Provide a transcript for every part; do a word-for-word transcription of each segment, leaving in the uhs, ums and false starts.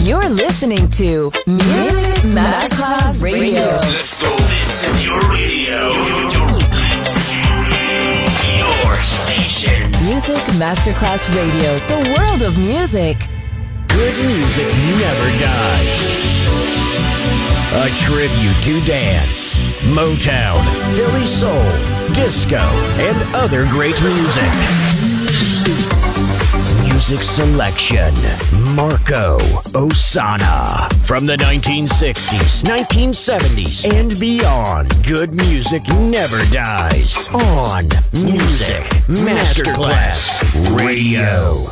You're listening to Music Masterclass Radio. Let's go. This is your radio. Your station. Music Masterclass Radio. The world of music. Good music never dies. A tribute to dance, Motown, Philly soul, disco, and other great music. Music selection, Marco Ossanna. From the nineteen sixties, nineteen seventies, and beyond, good music never dies. On Music Masterclass Radio.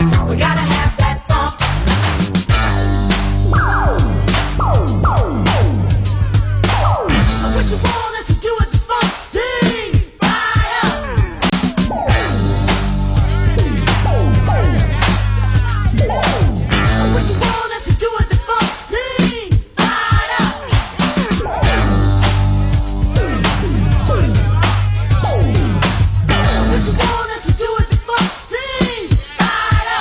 We gotta have that funk. What you want us to do with the funk? Sing fire. What you want us to do with the funk? Sing fire. What you want us to do with the funk? Sing fire.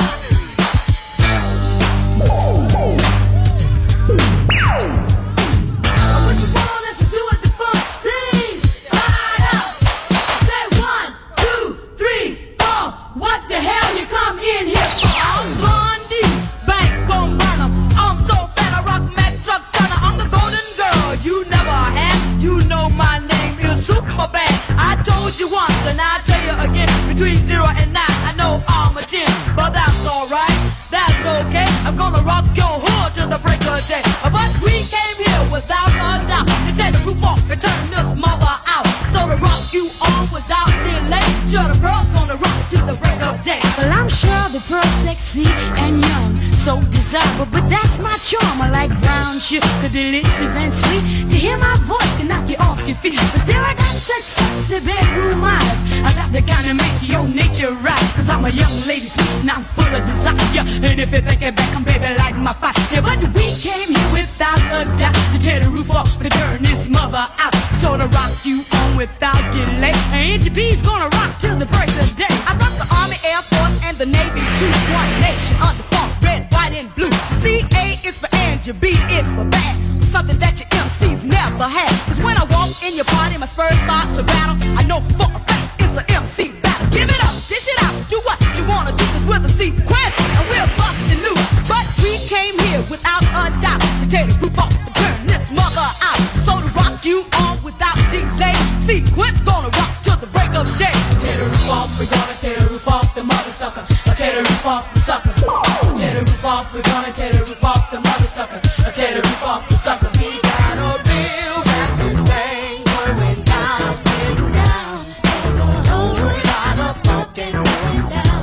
What you want us to do with the funk? Sing fire. Say one, two, three, four. What the hell you come in here for? I'm Blondie, bank gon' run 'em. I'm so bad I rock Mac Truck Turner. I'm the golden girl you never had. You know my name is super bad. I told you once and I'll tell you again. Between zero and nine, I know I'm a ten, but that's alright. That's okay. I'm gonna rock your hood till the break of day. But we came here without a doubt to take the roof off and turn this mother out. So to rock you on without delay. Sure the pearl's gonna rock till the break of day. Well, I'm sure the pearl's sexy and young, so desirable, but that's my charm. I like brown sugar, delicious and sweet. To hear my voice can knock you off your feet. But still I got such sexy bedroom eyes. I got the kind of make your nature rise. Cause I'm a young lady sweet and I'm full of desire. And if you're thinking back, I'm baby like my fire. Yeah, but we came here without a doubt to tear the roof off and turn this mother out. So to rock you on without delay. And N G B's gonna rock till the break of day. I rock the Army, Air Force, and the Navy too. One nation under funk, red, white, and blue. C A is for Angie, B is for bad. Something that your M Cs never had. Cause when I walk in your party, my first thought to battle, I know for a fact it's an M C battle. Give it up, dish it out, do what you wanna do. Cause we're the sequence, and we're busting loose. But we came here without a doubt to take the roof off and turn this mother out. So to rock you on without delay, sequence gonna rock till the break of day. Tear the roof off, we're gonna tear the roof off the mother sucker. Tear the roof off the sucker. Tear the roof off, we're gonna tear the roof off the mother sucker. Tear the roof off the sucker. We got a real rapid thing going down, getting down. There's a whole lot of funkin' going down.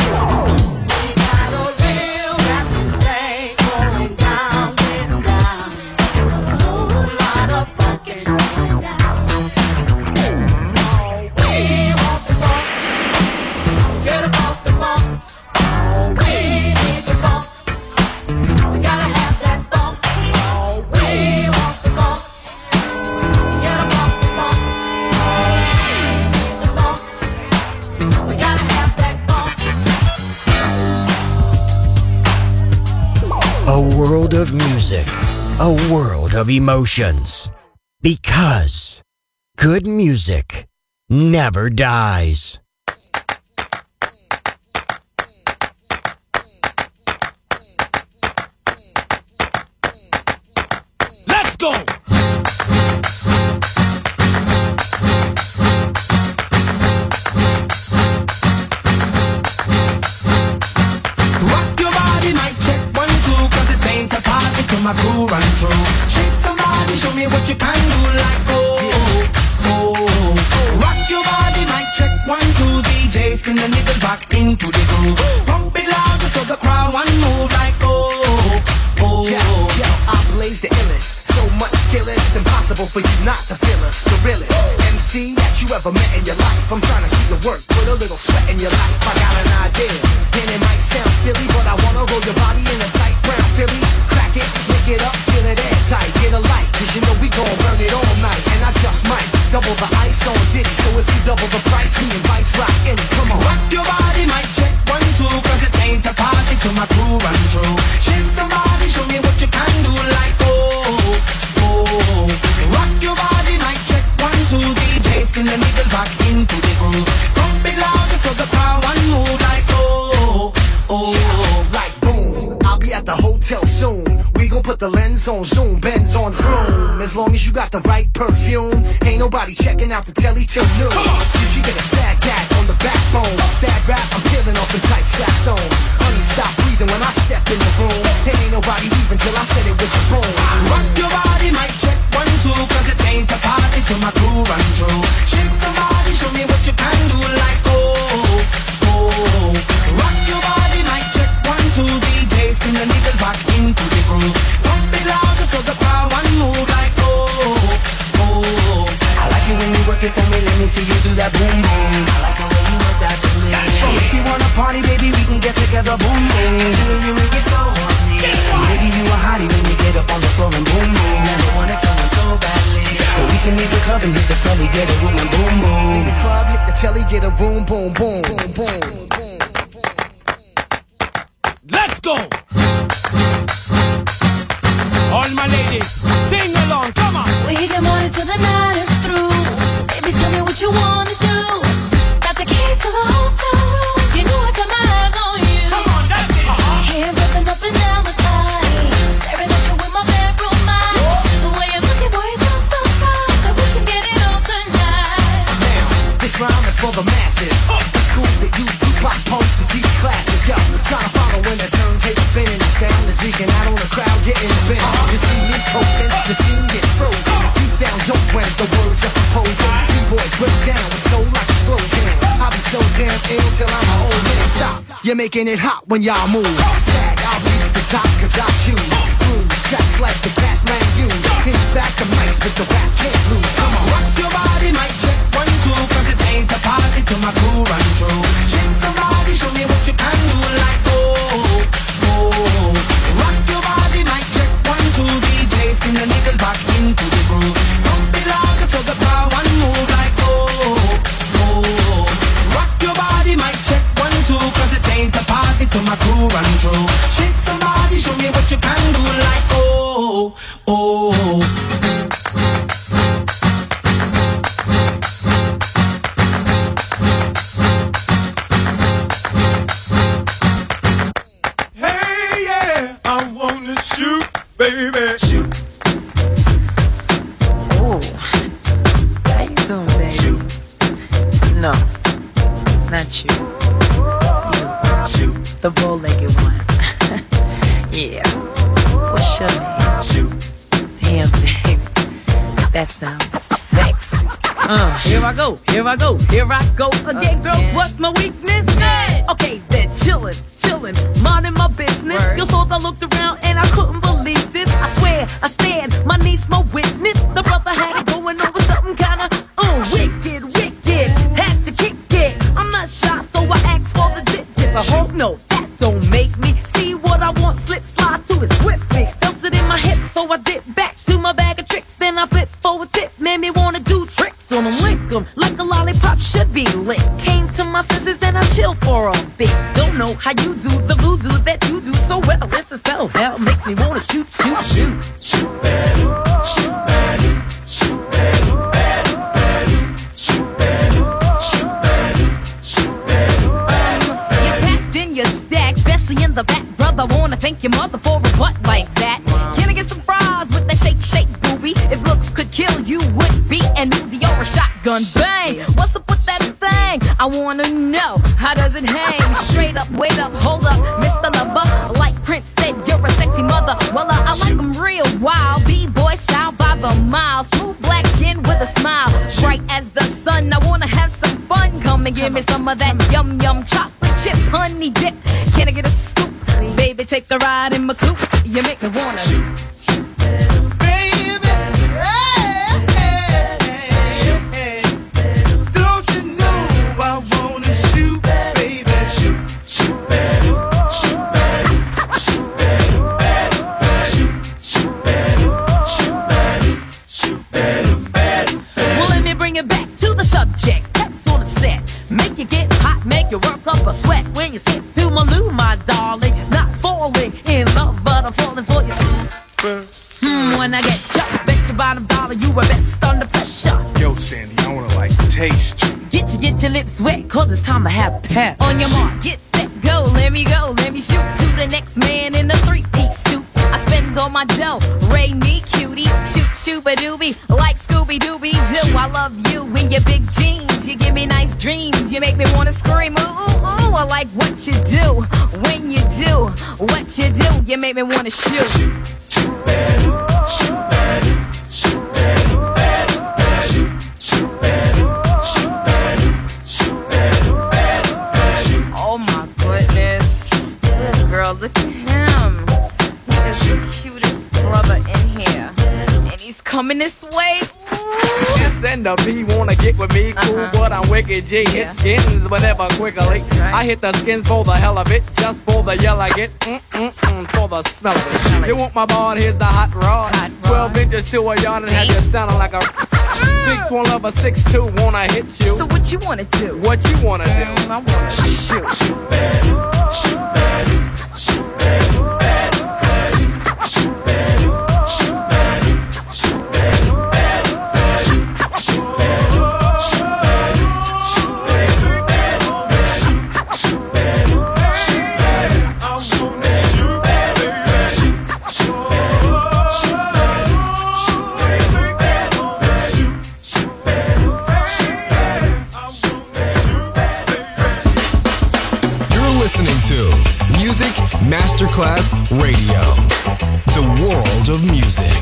We got a real rapid thing going down, getting down. There's a whole lot of funkin' going down. Oh, we want the funk. Get about the funk. Oh, we need the funk. We gotta have that funk. Oh, we want the funk. Get about the funk. Oh, we need the funk. We gotta have that funk. A world of music, a world of emotions. Because good music never dies. Let's go! Rock your body, mic check one, two, cause it ain't a party till my crew run through. Shake somebody, show me what you can do, like oh, oh, oh. Rock your body, mic check one, two, D J spin the niggle back into the groove. Pump it louder so the crowd one move, like oh, oh. Yo, yo, I blaze the illest. So much skill, it's impossible for you not to feel us. The realest M C that you ever met in your life. I'm trying to see your work with a little sweat in your life. I got an idea, and it might sound silly, but I wanna roll your body in a tight brown Philly. Crack it, lick it up, seal it airtight. Get a light, cause you know we gon' burn it all night. And I just might double the ice on Diddy. So if you double the price, me and Vice rock in. Come on. Rock your body, mic check one, two, cause it ain't a party till my crew run through. Shake somebody, show me what you can do, like oh, oh. Rock your body, mic check one, two, D J spin the needle back into the groove. Pump it louder so the crowd one move, like oh, oh. Yeah, like boom, I'll be at the hotel soon. We gon' put the lens on zoom, Benz on vroom. As long as you got the right perfume, ain't nobody checking out the telly till noon. You should get a stat tag on the backbone. Stat rap, I'm peeling off in tight saxon. Honey, stop breathing when I step in the room. There ain't nobody leaving till I said it with the boom. Rock your body, mic check one, two, cause it ain't a party till my crew run through. Shake somebody, show me what you can do, like oh, oh. Rock your body, mic check boom boom. Girl, you make me so horny. Baby, you a hottie when you get up on the floor and boom boom. Never wanna tell me so badly, but we can leave the club and hit the telly, get a room and boom boom. Leave the club, hit the telly, get a room, boom boom, boom boom. Let's go! All my ladies, sing along, come on! We get money till the night is through. Baby, tell me what you wanna do. Got the keys to the hotel room. You know I got my eyes on you. Come on, that's it! Uh-huh. Hands jumping up and down my thighs. Staring at you with my bedroom eyes. The way you're looking, boy, is not so fine. That we can get it on tonight. Now, this rhyme is for the masses. The schools that use Tupac poems to teach classes. Yo, trying to follow when the turntable spinning. The sound is leaking out on the crowd, getting bent. You see me coasting, you see me get frozen. You sound dope when the words are composing. B-boys break down with soul like a slow jam. I'll be so damn ill till I'm an old man. Stop, you're making it hot when y'all move. Tag, I'll reach the top cause I choose. Grooves, tracks like the Catman use. In fact, I'm nice with the rap, can't lose. Come on, Rock your body, mic check, one, two. Cause it ain't a party till my crew run through. Shake somebody, show me what you can do. Like, oh, oh. Rock your body, mic check, one, two. D J, spin the nickel back into the groove. Don't be loud, so the crowd one move. Like, oh, oh. Rock your body, mic check, one, two. Cause it ain't a party till my crew run through. Shake somebody, show me what you can do. Like, oh, oh. Hey, yeah, I wanna shoot, baby. Shoot. Ooh. How you doing, baby? Shoot. No, not you. Shoot. The bow-legged one. Yeah. What's your name? Shoot. Damn, baby. That sounds sexy. Uh, here I go, here I go, here I go again, girls. Again. What's my weakness? Okay, then chillin', chillin', minding my business. Word. You saw I looked around and I couldn't believe this. I swear, I stand, my niece, my witness. The brother had it going on with something kinda uh, wicked, wicked. Had to kick it. I'm not shy, so I asked for the digits. I hope no, that don't make me see what I want. Slip, slide to it swiftly. Felt it in my hips, so I dip back to my bag of tricks. Then I flip for a tip, made me wanna do tricks on them, lick 'em like a lollipop should be lit. Came to my senses and I chill for a bit. Don't know how you do the voodoo that you do so well. It's a spell, hell makes me wanna shoot, shoot, shoot. Shoot, battle, shoot, battle, shoot, battle, battle, battle, shoot, battle, shoot, battle, shoot, battle, battle, You packed in your stack, especially in the back, brother. Wanna thank your mother for a butt like that. Can I get some fries with that shake, shake, booby? If looks could kill, you would be an Uzi or a shotgun. Bang! What's up with that thing? I wanna know, how does it hang? Straight up, wait up, hold up, Mister Lover. Like Prince said, you're a sexy mother. Well, uh, I like them real wild. B-boy style by the mile. Smooth black skin with a smile. Bright as the sun, I wanna have some fun. Come and give me some of that yum yum chocolate chip honey dip. Can I get a scoop? Baby, take a ride in my coupe. You make me wanna shoot. baby. Hey, hey, hey. Don't you know I wanna shoot, baby? Shoot, shoot, battle, shoot, battle, shoot, battle, battle, battle, shoot, shoot, battle, shoot, battle, shoot, battle, battle. Well, let me bring it back to the subject. That's all it said. Make you get hot, make you work up a sweat. When you sit to my loo, my darling. Not falling in love, but I'm falling for you. Hmm, when I get jumped, bet your bottom dollar you were best under pressure. Yo, Sandy, I wanna like taste you. Get you, get your lips wet, cause it's time to have pep. On your mark, get set, go, let me go, let me shoot to the next man in a three-piece suit. I spend all my dough, Ray me cutie, shoot, shoot-a-doobie, like Scooby-Dooby-Doo. I love you in your big jeans, you give me nice dreams, you make me wanna scream, ooh, ooh, ooh. I like what you do, when you do, what you do, you make me wanna shoot. Shoot, shoot, battle, shoot, battle, shoot, battle, battle, battle, shoot, shoot, battle, shoot, battle, shoot, battle, battle, battle, shoot. Oh my goodness. Girl, look at him. He is the cutest brother in here. And he's coming this way. Ooh. S and the P wanna get with me, cool, uh-huh. But I'm wicked G. Yeah. Hit skins, but never quickly. Right. I hit the skins for the hell of it, just for the yell I get, mm-mm-mm, for the smell of it. Smell you it. Want my bond, here's the hot rod. Hot rod. Twelve inches to a yard and have you sounding like a six one of a six two, wanna hit you. So what you wanna do? What you wanna do? Mm, I wanna shoot. Shoot better, shoot better, shoot better, better, better, shoot better, shoot better, shoot better, better, better, shoot better, shoot better, shoot better, better, better, shoot better, shoot better, I wanna shoot better, better, shoot better, shoot better, shoot better, better, better, shoot better, shoot better, I wanna shoot better. You're listening to Music Masterclass Radio, the world of music.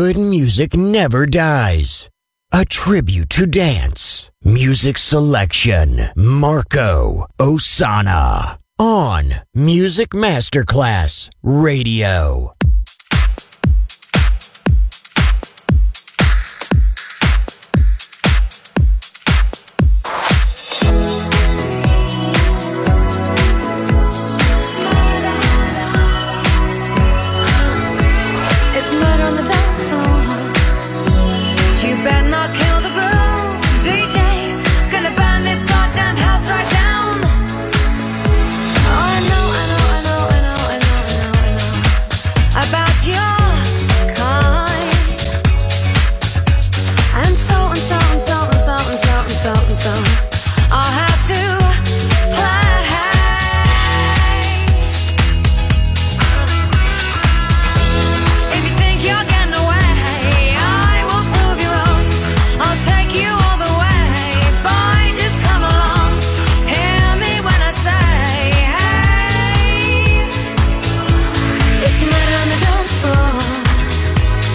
Good music never dies. A tribute to dance. Music selection. Marco Ossanna. On Music Masterclass Radio.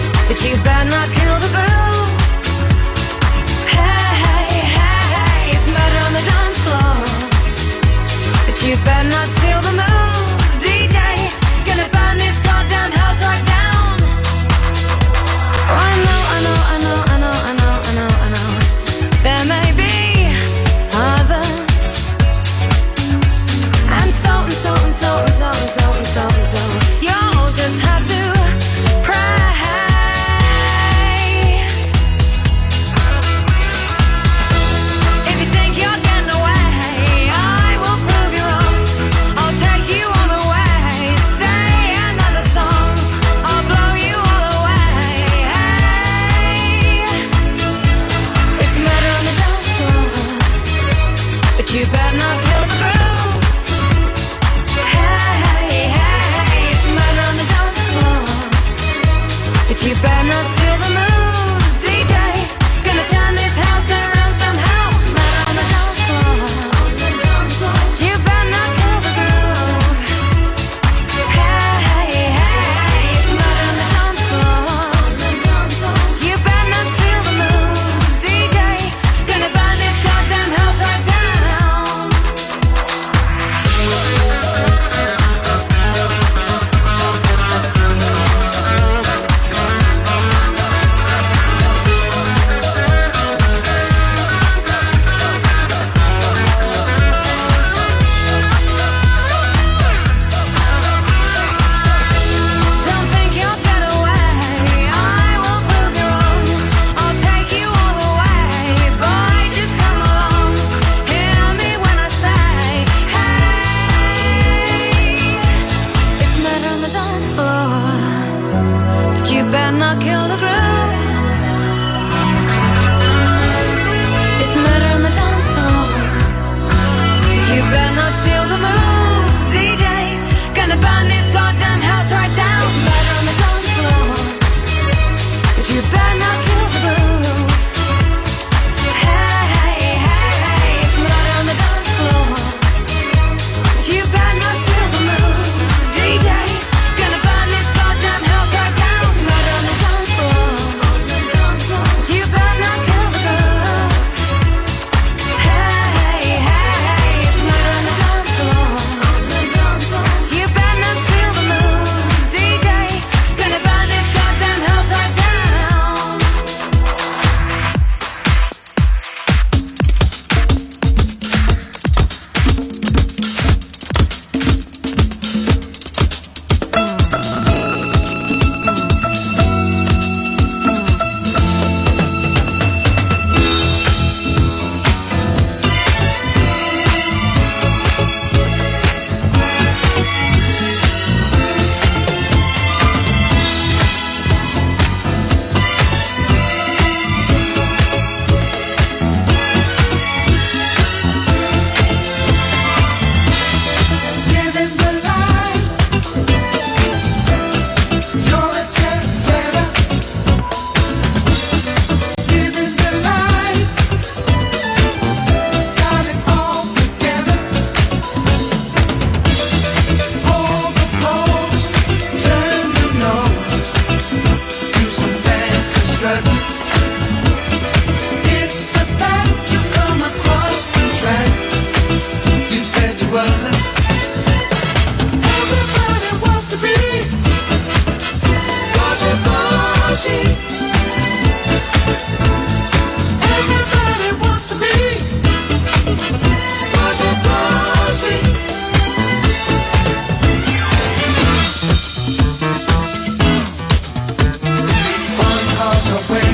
You better not kill the groove. Hey, hey, hey, it's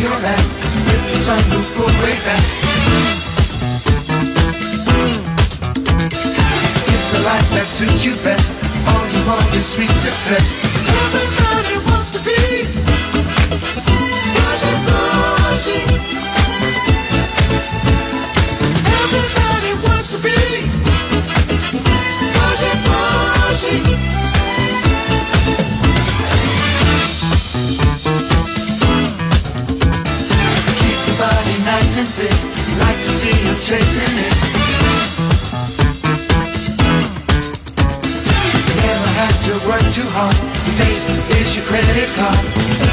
you're at. With the sunroof pulled way back. It's the life that suits you best. All you want is sweet success. Everybody wants to be Rosie, Rosie. Everybody wants to be Rosie, Rosie. Keep your body nice and fit. Like to see you chasing it. Never have to work too hard. Your face is your credit card.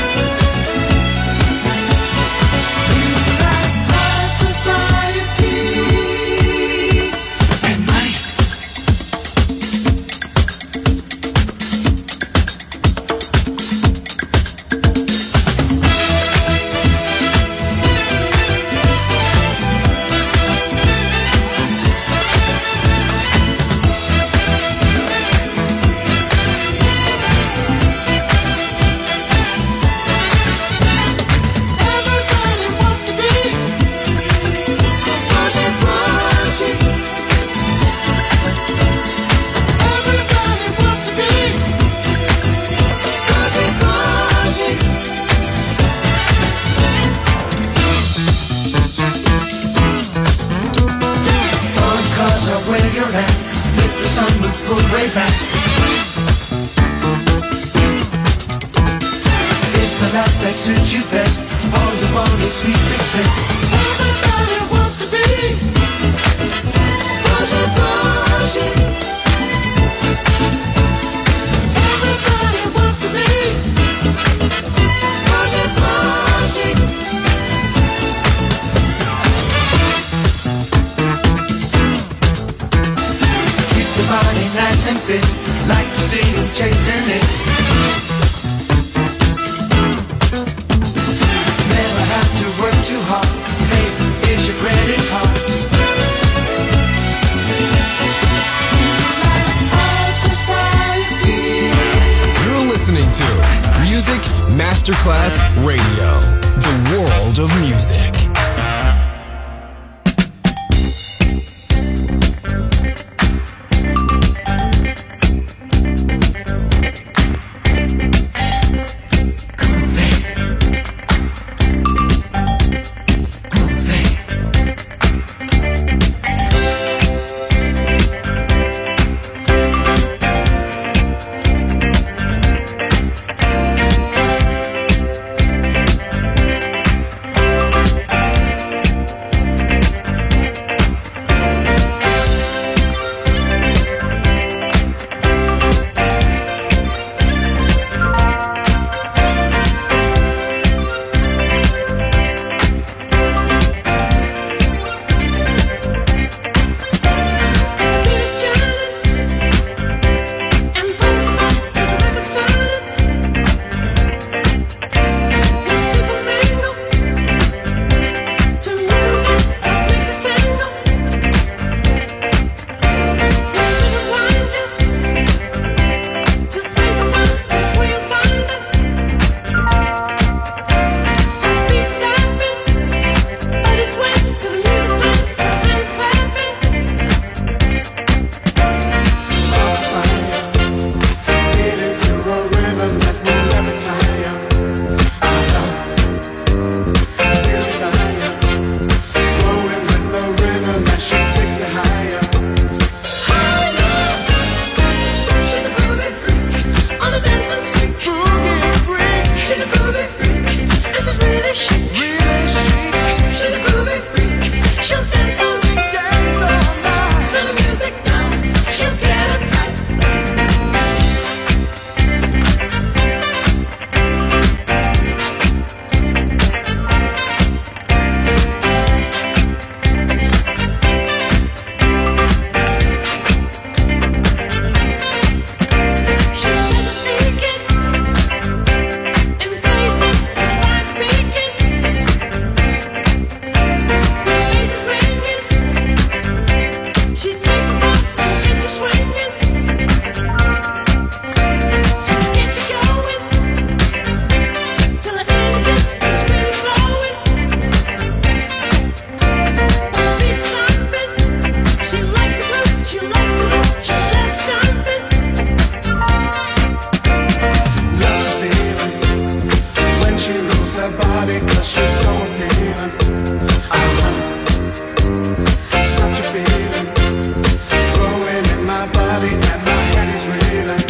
Masterclass Radio, the world of music. feeling. Uh-huh. Such a feeling growing in my body and my head is reeling.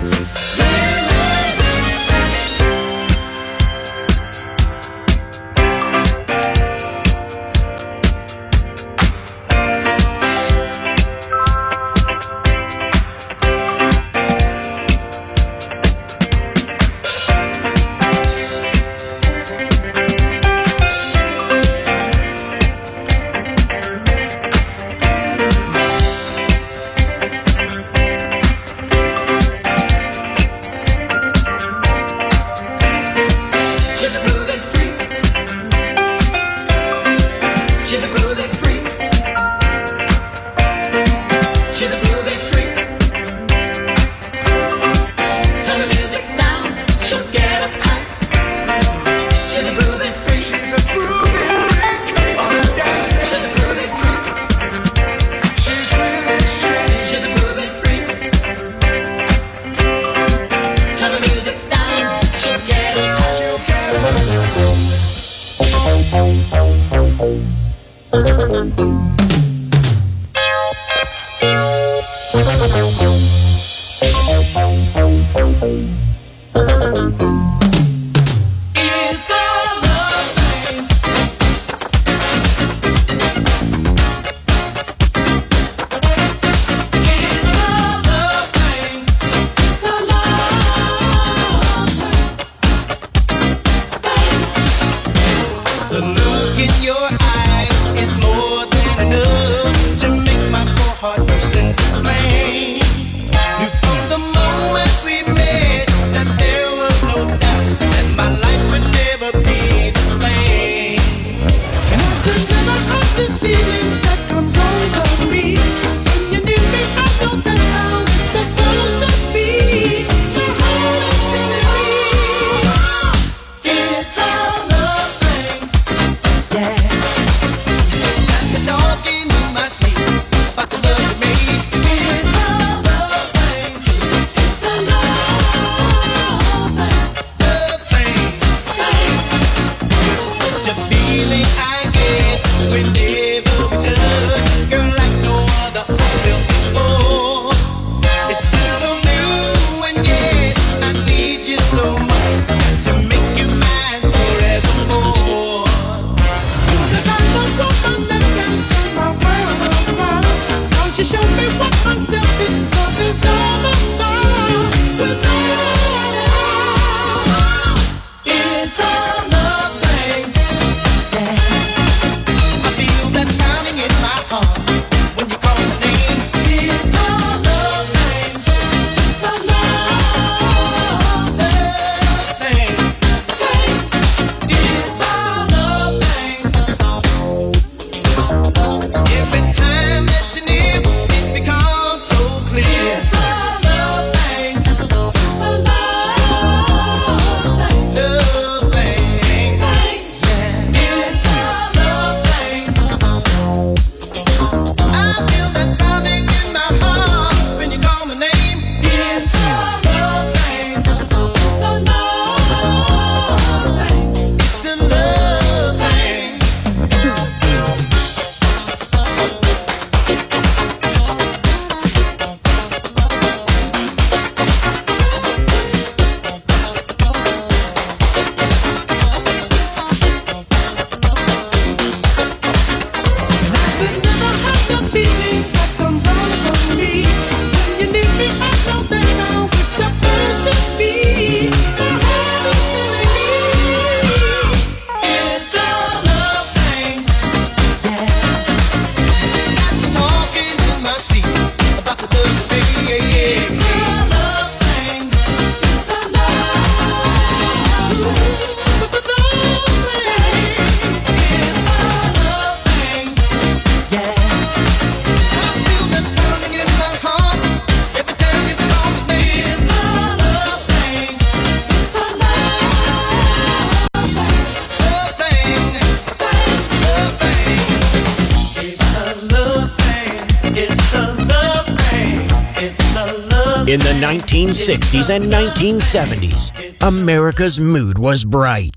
In the nineteen sixties and nineteen seventies, America's mood was bright.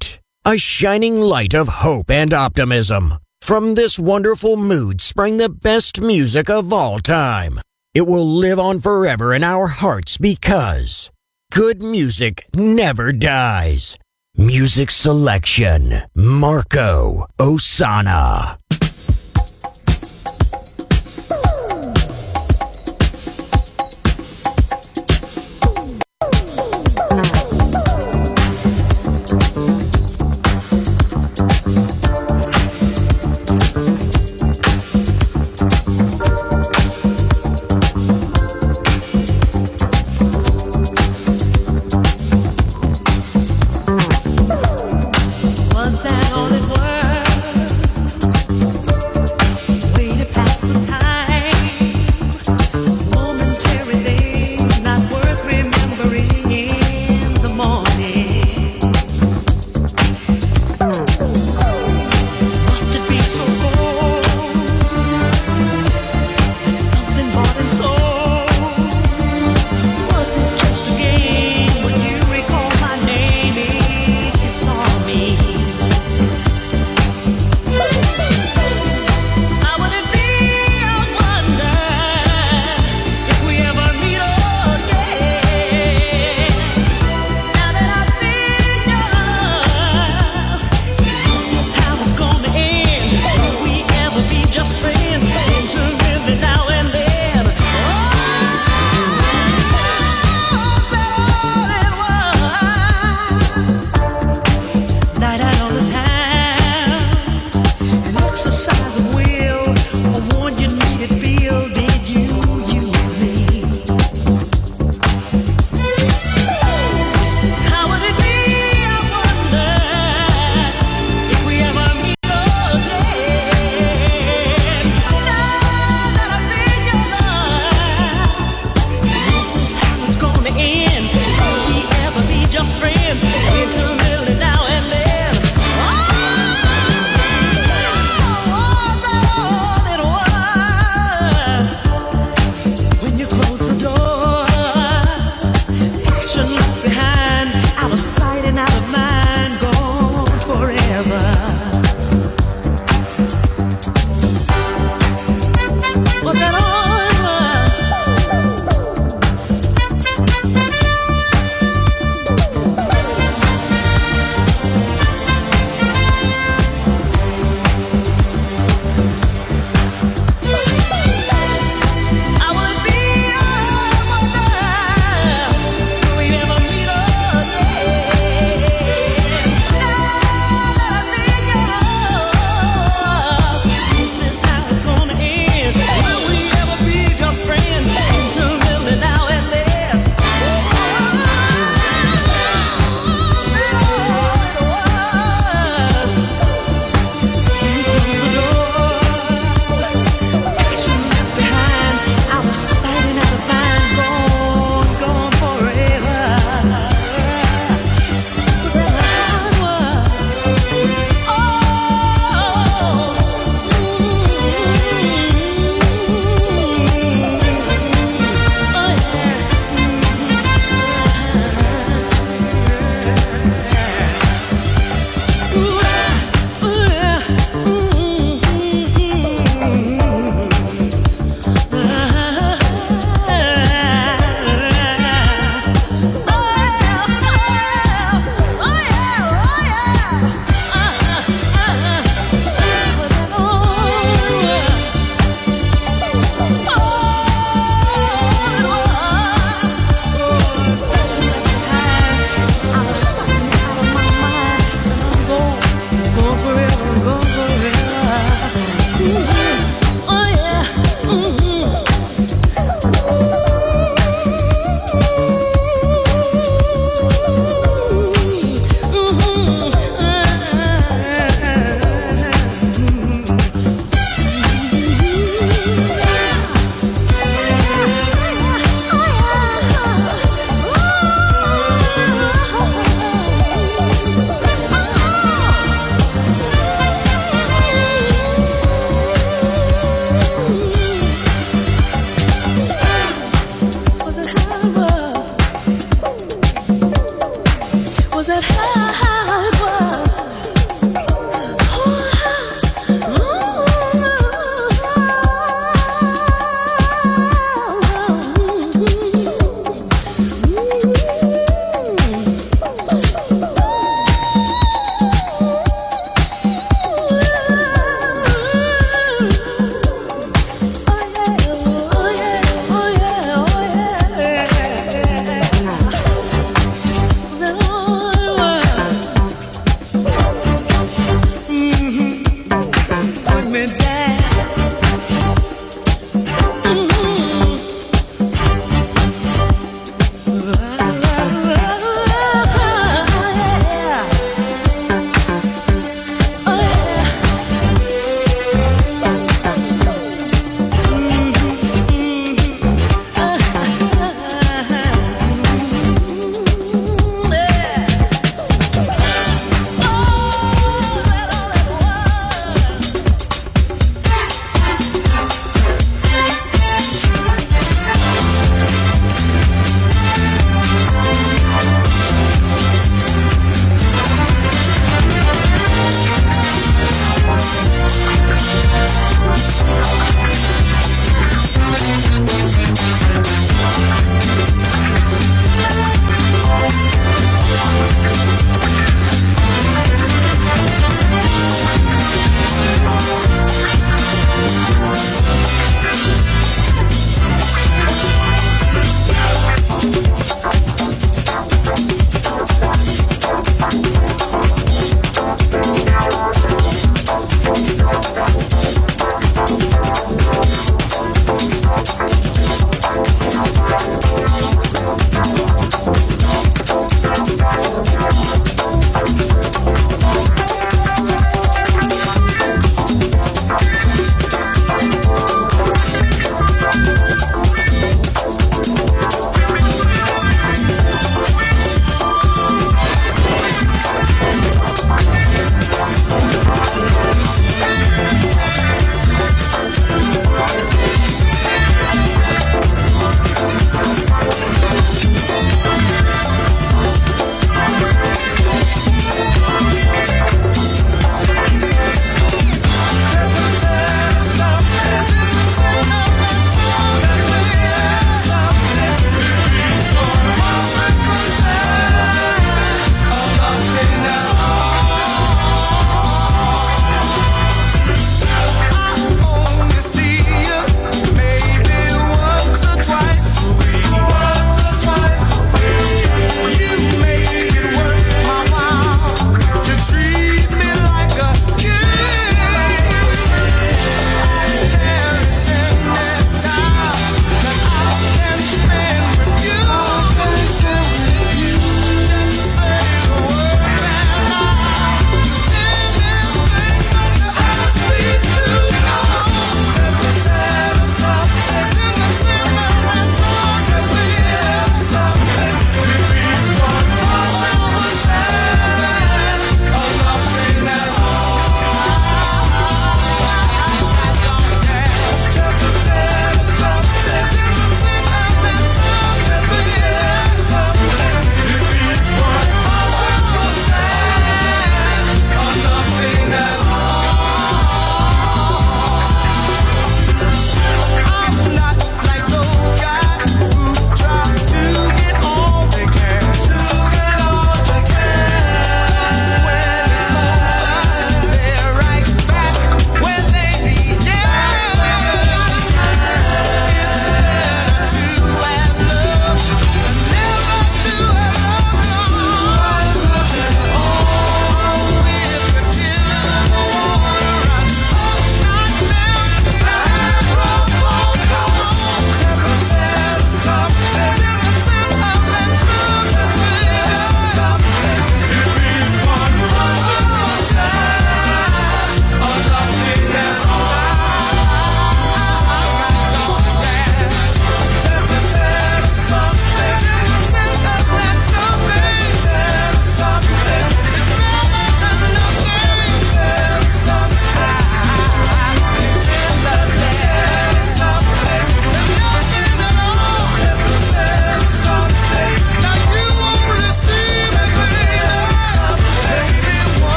a shining light of hope and optimism. From this wonderful mood sprang the best music of all time. It will live on forever in our hearts because good music never dies. Music selection, Marco Ossanna. Was that all it was?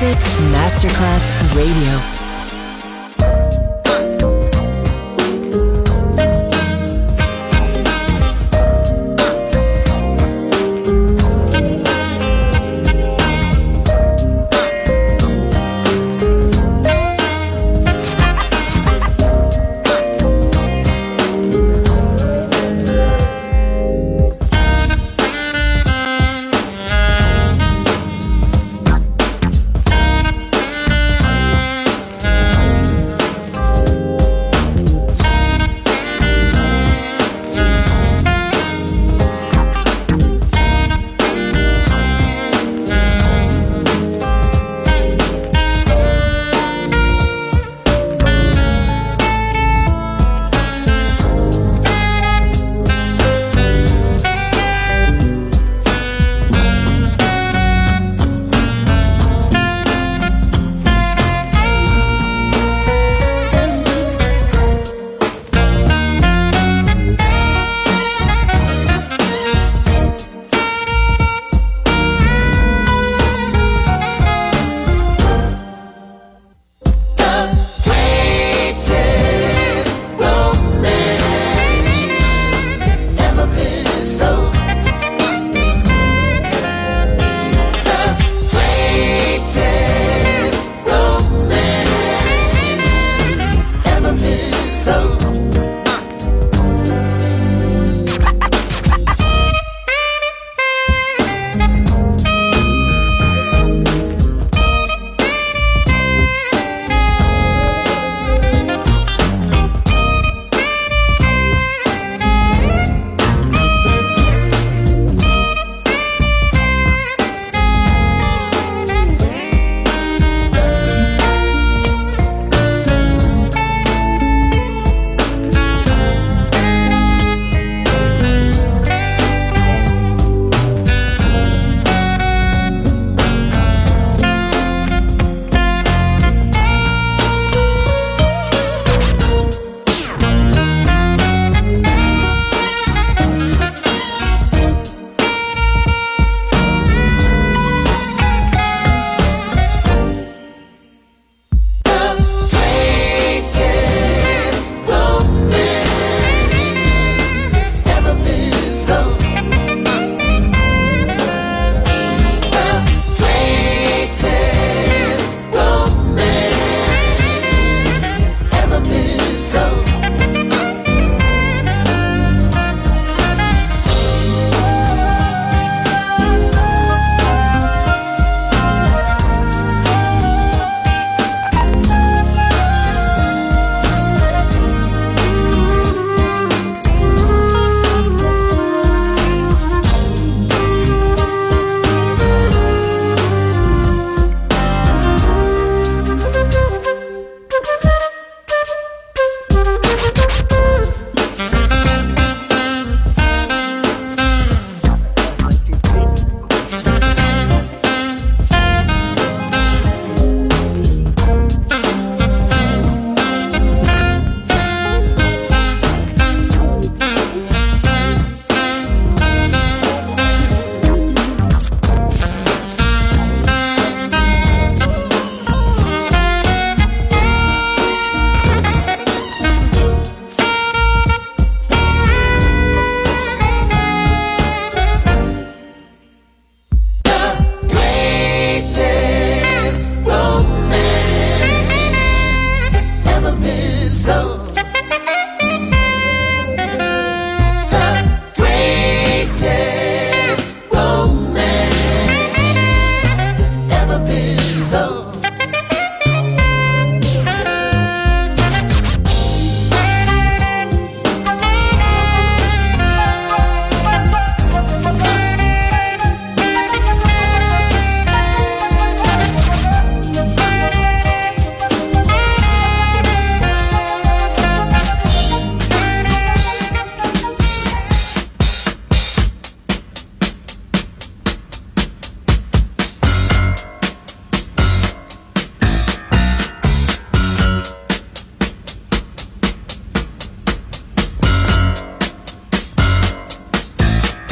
Music Masterclass Radio.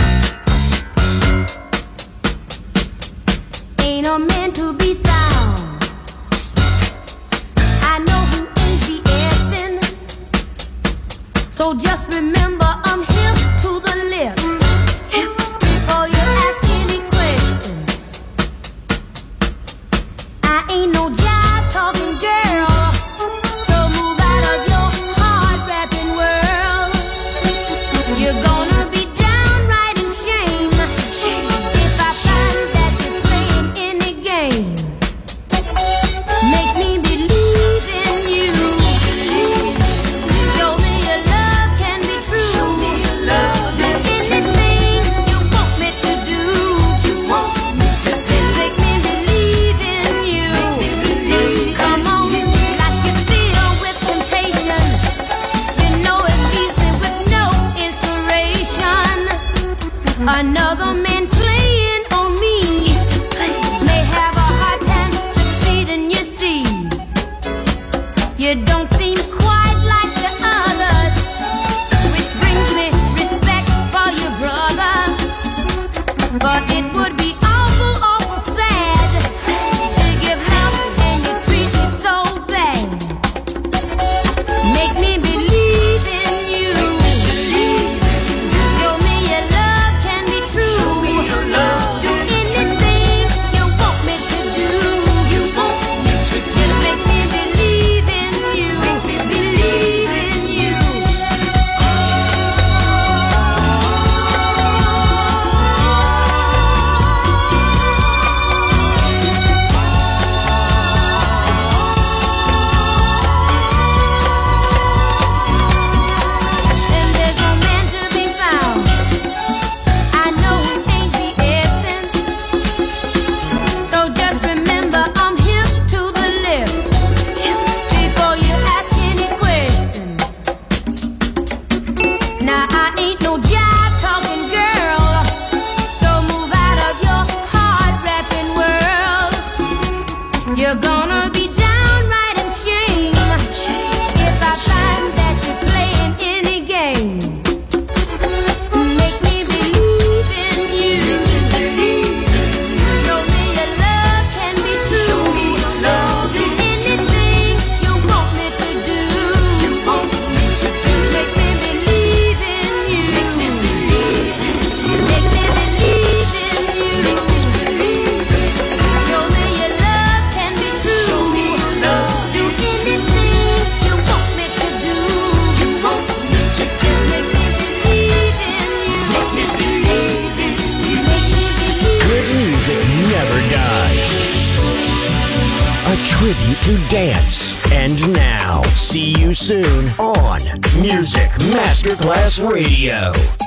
Ain't no man to be found So just remember I'm hip to the lip. Hip before you ask any questions. I ain't no jive talking girl. So move out of your hard rapping world. You're gonna be downright in shame if I find that you're playing any game. Make me believe in you. Show me your love can be true. Anything you want me to do. Make me believe in you. Come on, like you feel with temptation. You know it leaves me with no inspiration. Another man playing on me. May have a hard time succeeding, you see. You don't seem quite like the others, which brings me respect for your brother. But it would be awful, awful sad to give love and you treat me so bad. Make me believe in you. Show me your love can be true. Do anything you want me to do. Just make me believe in you. Believe in you. And there's no man to be found. I know he ain't BSing. So just remember I'm hip to the lip. Before you ask any questions. Now I ain't no jive talking girl. So move out of your hard rapping world. You're gonna be downright in shame if I find that you're playing any game. Make me believe in you. Show me your love can be true. Do anything you want me to do. Make me believe in you. Make me believe in you. Show me your love can be true. Do anything you want me to do. Just make me believe in you. Make me believe in you. Make me believe. Good music never dies. A tribute to dance. And now, see you soon on Music Masterclass Radio.